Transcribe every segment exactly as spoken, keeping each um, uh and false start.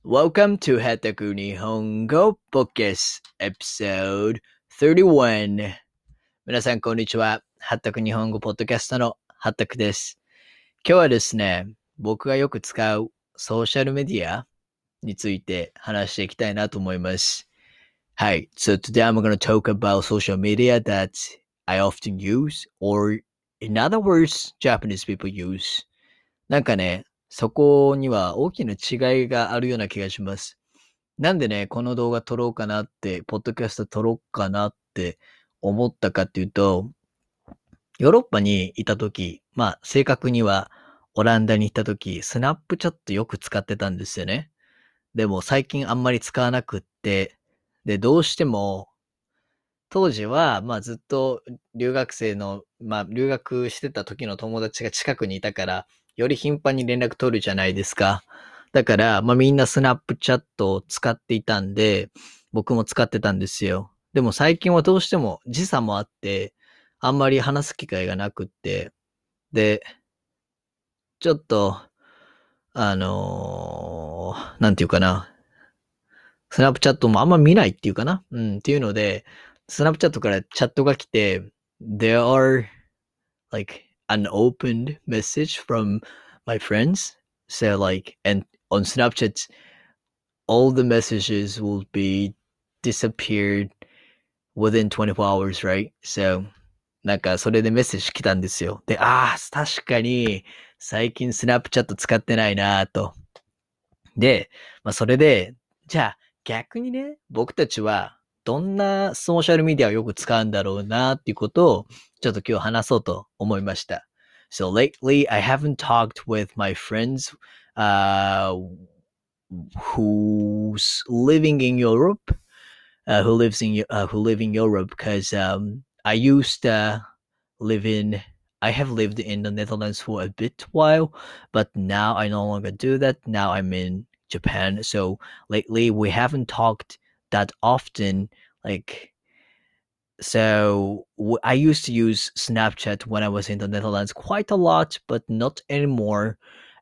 Welcome to はたく日本語 Podcast Episode さんじゅういち。皆さんこんにちは。はたく日本語ポッドキャストのはたくです。今日はですね、僕がよく使うソーシャルメディアについて話していきたいなと思います。はい。So today I'm going to talk about social media that I often use, or in other words, Japanese people use. なんかね、そこには大きな違いがあるような気がします。なんでね、この動画撮ろうかなって、ポッドキャスト撮ろうかなって思ったかっていうと、ヨーロッパにいたとき、まあ正確にはオランダに行ったとき、スナップチャットよく使ってたんですよね。でも最近あんまり使わなくって、で、どうしても、当時は、まあずっと留学生の、まあ留学してた時の友達が近くにいたから、より頻繁に連絡取るじゃないですか。だから、まあみんなスナップチャットを使っていたんで、僕も使ってたんですよ。でも最近はどうしても時差もあって、あんまり話す機会がなくって、で、ちょっと、あのー、なんていうかな。スナップチャットもあんま見ないっていうかな。うん、っていうので、スナップチャットからチャットが来て、there are like an opened message from my friends. So like, and on Snapchat, all the messages will be disappeared within twenty-four hours, right? So, なんかそれでメッセージ来たんですよ。で、ああ、確かに最近スナップチャット使ってないなと。で、まあそれで、じゃあ逆にね、僕たちはどんなソーシャルメディアをよく使うんだろうなっていうことをちょっと今日話そうと思いました。So lately I haven't talked with my friends uh, who's living in Europe, uh, who lives in uh, who live in Europe because um, I used to live in I have lived in the Netherlands for a bit while, but now I no longer do that. Now I'm in Japan. So lately we haven't talked that often. Like, so w- I used to use Snapchat when I was in the Netherlands quite a lot, but not anymore.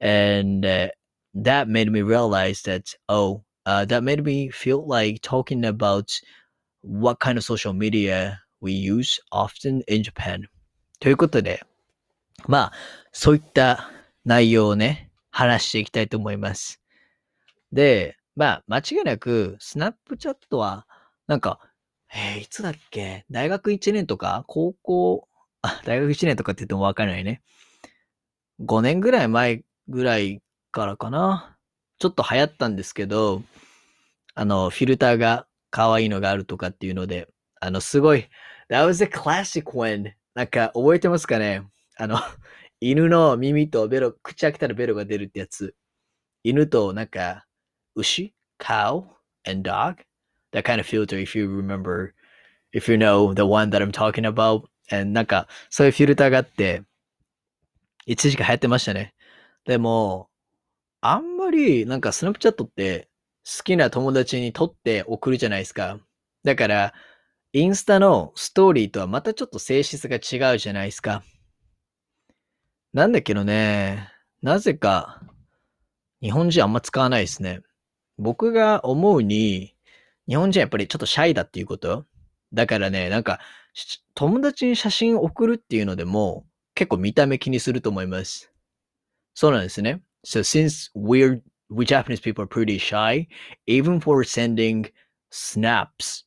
And uh, that made me realize that, oh, uh, that made me feel like talking about what kind of social media we use often in Japan. ということで、まあ、そういった内容をね、話していきたいと思います。で、まあ、間違いなく、スナップチャットは、なんか、えー、いつだっけ大学いちねんとか高校、あ、大学いちねんとかって言ってもわからないね。ごねんぐらい前ぐらいからかな。ちょっと流行ったんですけど、あの、フィルターが可愛いのがあるとかっていうので、あの、すごい、that was a classic one. なんか、覚えてますかねあの、犬の耳とベロ、口開けたらベロが出るってやつ。犬となんか、牛 ?cow and dog? That kind of filter if you remember, if you know the one that I'm talking about. And なんか、そういうフィルターがあって、一時期流行ってましたね。でも、あんまり、なんかスナップチャットって好きな友達に撮って送るじゃないですか。だから、インスタのストーリーとはまたちょっと性質が違うじゃないですか。なんだけどね、なぜか日本人あんま使わないですね。僕が思うに、日本人はやっぱりちょっとシャイだっていうこと。だからね、なんか、友達に写真送るっていうのでも、結構見た目気にすると思います。そうなんですね。So since we're, we Japanese people are pretty shy, even for sending snaps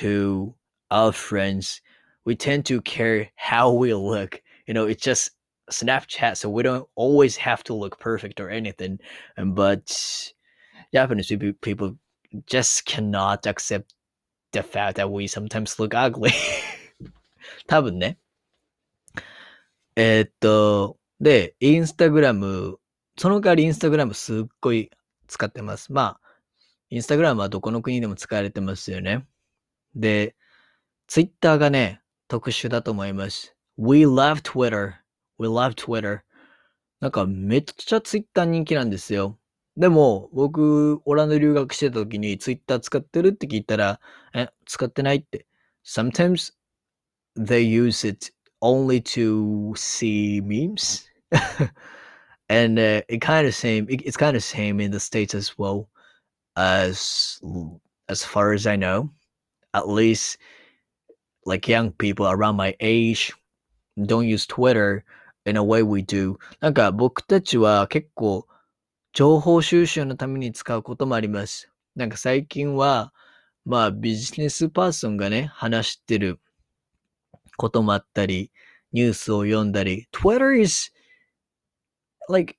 to our friends, we tend to care how we look. You know, it's just Snapchat, so we don't always have to look perfect or anything. But Japanese people, people just cannot accept the fact that we sometimes look ugly. 多分ね。えーっと、で、インスタグラム、その代わりインスタグラムすっごい使ってます。まあ、インスタグラムはどこの国でも使われてますよね。で、ツイッターがね、特殊だと思います。We love Twitter. We love Twitter. なんかめっちゃツイッター人気なんですよ。でも、僕、オランダ留学してた時にツイッター使ってるって聞いたら、え、使ってないって。Sometimes they use it only to see memes. and uh, it kind of same it, it's kind of same in the States as well. as as far as I know, at least like young people around my age don't use Twitter in a way we do. なんか僕たちは結構情報収集のために使うこともあります。なんか最近は、まあビジネスパーソンがね、話してることもあったり、ニュースを読んだり、Twitter is like,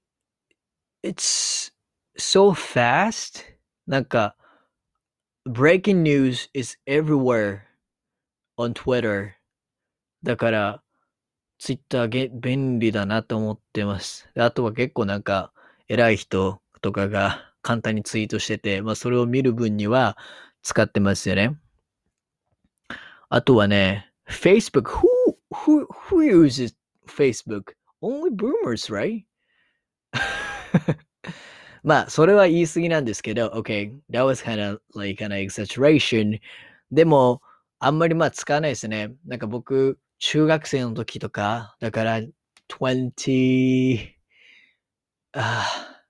it's so fast. なんか、breaking news is everywhere on Twitter. だから、ツイッターげ便利だなと思ってます。あとは結構なんか、偉い人とかが簡単にツイートしてて、まあそれを見る分には使ってますよね。あとはね、Facebook. Who, who, who uses Facebook? Only boomers, right? まあ、それは言い過ぎなんですけど、okay, that was kind of like an exaggeration. でも、あんまりまあ使わないですね。なんか僕、中学生の時とか、だから、twenty, あ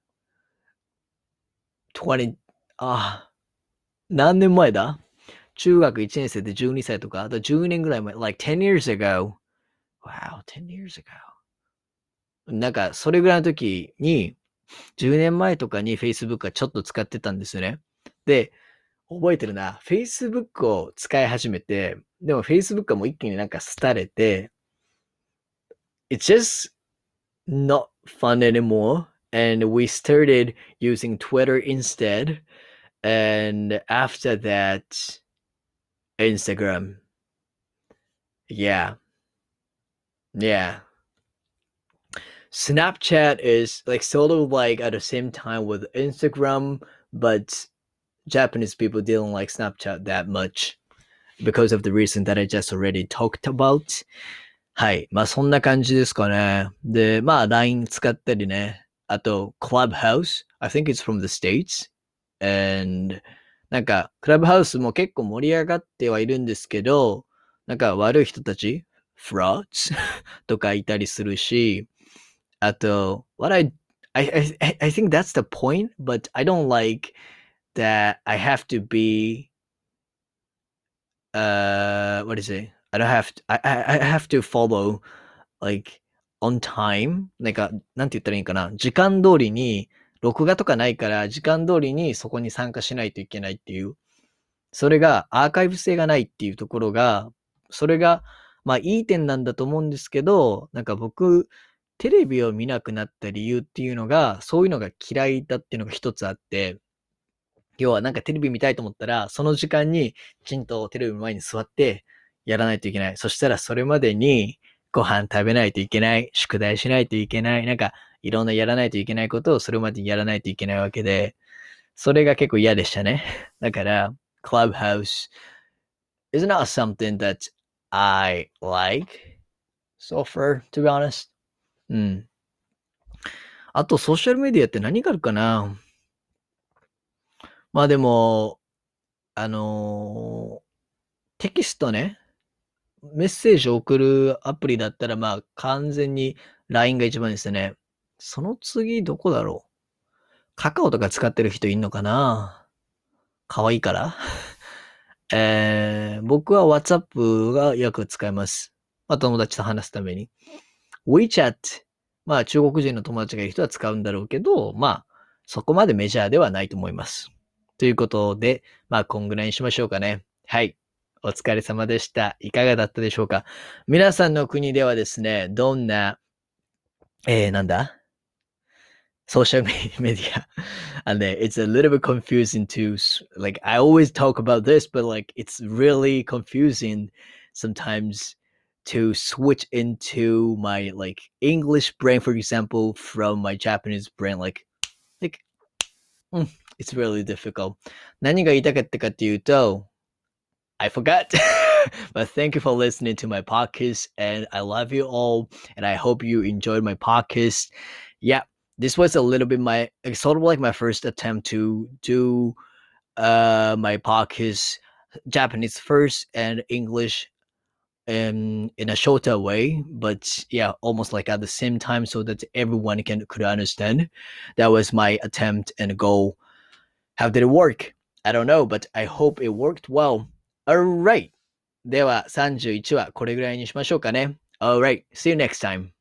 ー、twenty, あー、何年前だ中学いちねん生でじゅうにさいとか、だじゅうねんぐらい前、like ten years ago. Wow, ten years ago. なんか、それぐらいの時に、じゅうねんまえとかに Facebook はちょっと使ってたんですよね。で、覚えてるな。Facebook を使い始めて、でも Facebook はもう一気になんか廃れて、It's just not fun anymore. And we started using Twitter instead. And after that, Instagram. Yeah. Yeah. Snapchat is like sort of like at the same time with Instagram, but Japanese people didn't like Snapchat that much because of the reason that I just already talked about. はい。まあそんな感じですかね。で、まあ ライン 使ったりね。あと Clubhouse. I think it's from the States. And なんか Clubhouse も結構盛り上がってはいるんですけど、なんか悪い人たち frauds とかいたりするし、あと what I, I, I, I think that's the point, but I don't like that I have to be uh what is it? I don't have to, I, I, I have to follow like on time なんかなんて言ったらいいかな時間通りに録画とかないから時間通りにそこに参加しないといけないっていうそれがアーカイブ性がないっていうところがそれがまあいい点なんだと思うんですけどなんか僕テレビを見なくなった理由っていうのがそういうのが嫌いだっていうのが一つあって要はなんかテレビ見たいと思ったら、その時間にきちんとテレビの前に座ってやらないといけない。そしたらそれまでにご飯食べないといけない。宿題しないといけない。なんかいろんなやらないといけないことをそれまでにやらないといけないわけで、それが結構嫌でしたね。だから、Clubhouse is not something that I like so far, to be honest. うん。あとソーシャルメディアって何があるかなまあでも、あのーテキストね、メッセージを送るアプリだったら、まあ完全に ライン が一番ですね。その次どこだろうカカオとか使ってる人いんのかな可愛いからえー、僕は WhatsApp がよく使います。まあ友達と話すために。WeChat。まあ中国人の友達がいる人は使うんだろうけど、まあそこまでメジャーではないと思います。ということで、まあこんぐらいにしましょうかね。はい。お疲れ様でした。いかがだったでしょうか皆さんの国ではですね、どんな、えー、なんだソーシャルメディア and uh, it's a little bit confusing to like I always talk about this but like it's really confusing sometimes to switch into my like English brain for example from my Japanese brain like like mm, it's really difficult 何が言いたかったかっていうと I forgot but thank you for listening to my podcast and I love you all and I hope you enjoyed my podcast yeah this was a little bit my sort of like my first attempt to do uh my podcast Japanese first and English in in a shorter way but yeah almost like at the same time so that everyone can could understand that was my attempt and goal How did it work? I don't know, but I hope it worked well. Alright. ではさんじゅういちわこれぐらいにしましょうかね。Alright. See you next time.